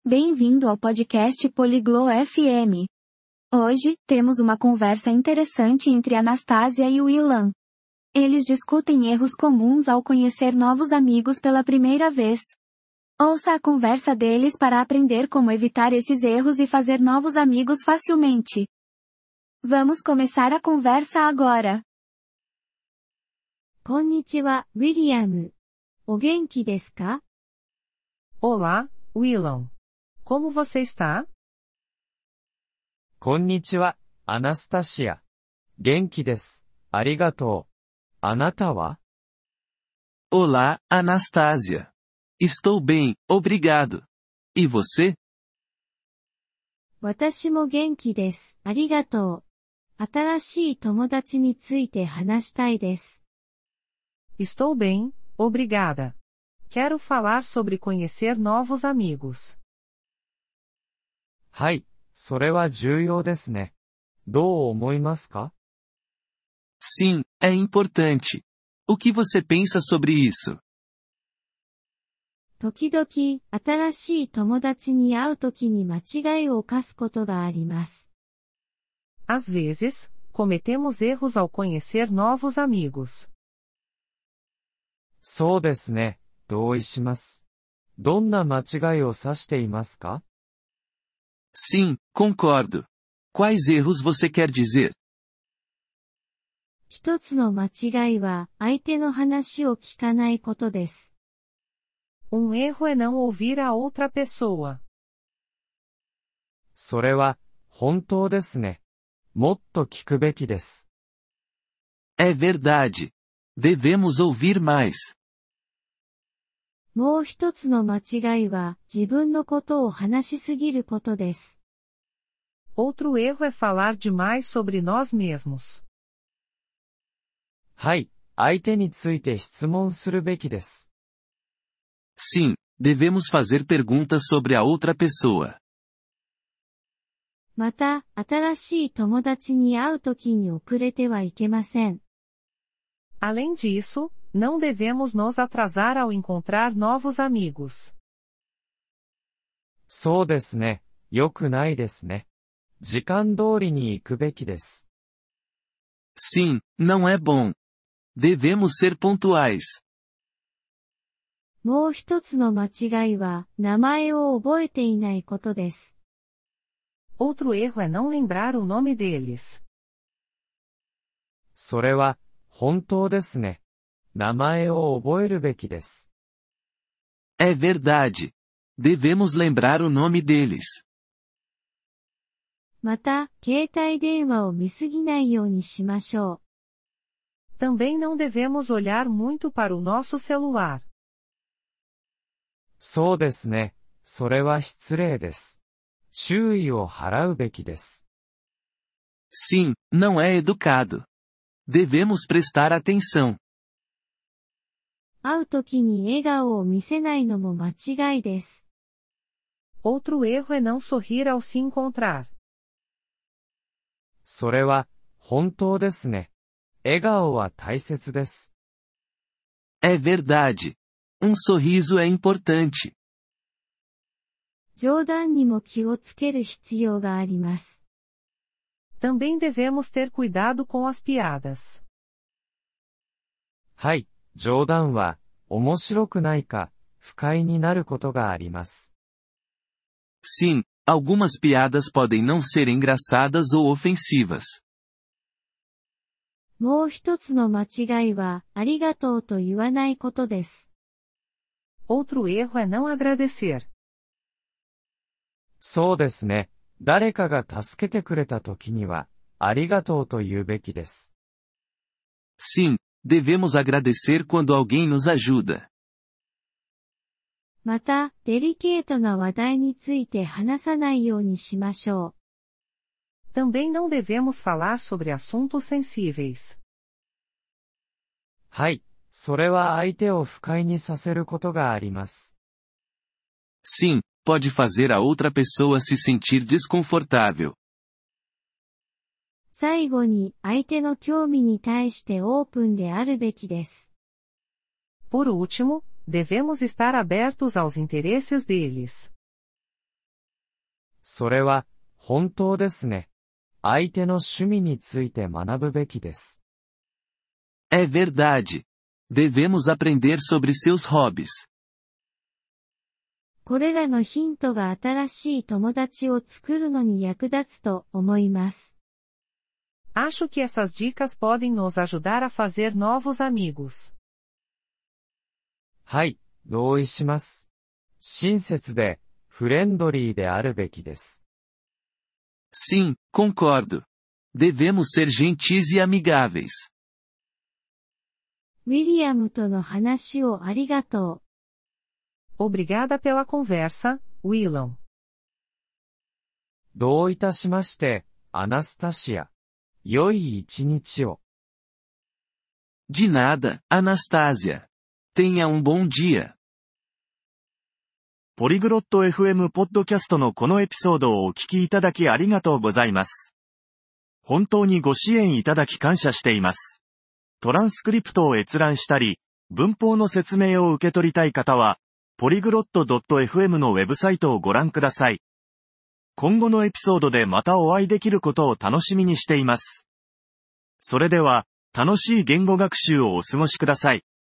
Bem-vindo ao podcast Poliglo FM. Hoje, temos uma conversa interessante entre Anastasia e Willan. Eles discutem erros comuns ao conhecer novos amigos pela primeira vez. Ouça a conversa deles para aprender como evitar esses erros e fazer novos amigos facilmente. Vamos começar a conversa agora. こんにちは、ウィリアム。お元気ですか? Olá, Willan. Como você está? こんにちは、アナスタシア。元気です。ありがとう。あなたは? Olá, Anastasia. Estou bem, obrigado. E você? 私も元気です。ありがとう。新しい友達について話したいです。 Estou bem, obrigada. Quero falar sobre conhecer novos amigos. はい、それは重要ですね。どう思いますか? Sim, é importante. O que você pensa sobre isso? 時々、新しい友達に会うときに間違いを犯すことがあります。 Às vezes, cometemos erros ao conhecer novos amigos. そうですね、同意します。どんな間違いを指していますか? Sim, concordo. Quais erros você quer dizer? 一つの間違いは、相手の話を聞かないことです。 erro é não ouvir a outra pessoa. それは、本当ですね。もっと聞くべきです。 É verdade. Devemos ouvir mais. もう一つの間違いは、自分のことを話しすぎることです。 Outro erro é falar demais sobre nós mesmos. はい、相手について質問するべきです。 Sim, devemos fazer perguntas sobre a outra pessoa. また、新しい友達に会うときに遅れてはいけません。 Além disso, não devemos nos atrasar ao encontrar novos amigos. そうですね、良くないですね。時間通りに行くべきです。 Sim, não é bom. Devemos ser pontuais. もう一つの間違いは、名前を覚えていないことです。 Outro erro é não lembrar o nome deles. それは、本当ですね。名前を覚えるべきです。 É verdade. Devemos lembrar o nome deles. また、携帯電話を見すぎないようにしましょう。 Também não devemos olhar muito para o nosso celular. そうですね。それは失礼です。注意を払うべきです。 Sim, não é educado. Devemos prestar atenção. 会うときに笑顔を見せないのも間違いです。 Outro erro é não sorrir ao se encontrar. それは、本当ですね。笑顔は大切です。 É verdade. Um sorriso é importante. 冗談にも気をつける必要があります。 Também devemos ter cuidado com as piadas. はい、冗談は、面白くないか、不快になることがあります。 Sim, algumas piadas podem não ser engraçadas ou ofensivas. もう一つの間違いは、ありがとうと言わないことです。 Outro erro é não agradecer. そうですね。誰かが助けてくれた時には、ありがとうと言うべきです。 Sim, devemos agradecer quando alguém nos ajuda. また、デリケートな話題について話さないようにしましょう。 Também não devemos falar sobre assuntos sensíveis. はい、それは相手を不快にさせることがあります。 Sim, pode fazer a outra pessoa se sentir desconfortável. 最後に、相手の興味に対してオープンであるべきです。 Por último, devemos estar abertos aos interesses deles. それは、本当ですね。相手の趣味について学ぶべきです。 É verdade. Devemos aprender sobre seus hobbies. これらのヒントが新しい友達を作るのに役立つと思います。 Acho que essas dicas podem nos ajudar a fazer novos amigos. はい、同意します。親切で、フレンドリーであるべきです。 Sim, concordo. Devemos ser gentis e amigáveis. ウィリアムとの話をありがとう。 Obrigada pela conversa, Willam. どういたしまして、アナスタシア。良い一日を。 De nada, Anastasia. Tenha bom dia. ポリグロット FM ポッドキャストのこのエピソードをお聞きいただきありがとうございます。本当にご支援いただき感謝しています。トランスクリプトを閲覧したり、文法の説明を受け取りたい方は、ポリグロット .fm のウェブサイトをご覧ください。今後のエピソードでまたお会いできることを楽しみにしています。それでは、楽しい言語学習をお過ごしください。